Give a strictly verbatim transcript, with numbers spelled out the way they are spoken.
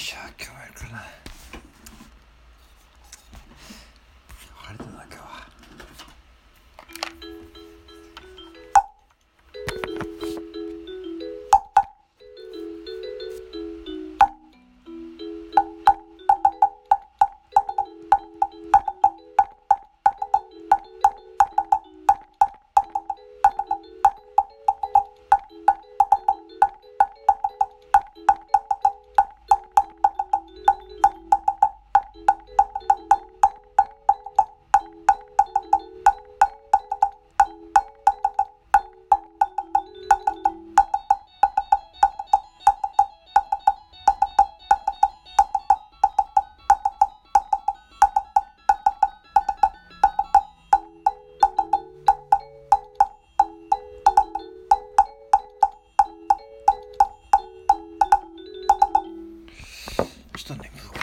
しゃ、今日もやるかな。晴れたな今日は。ちょっとね、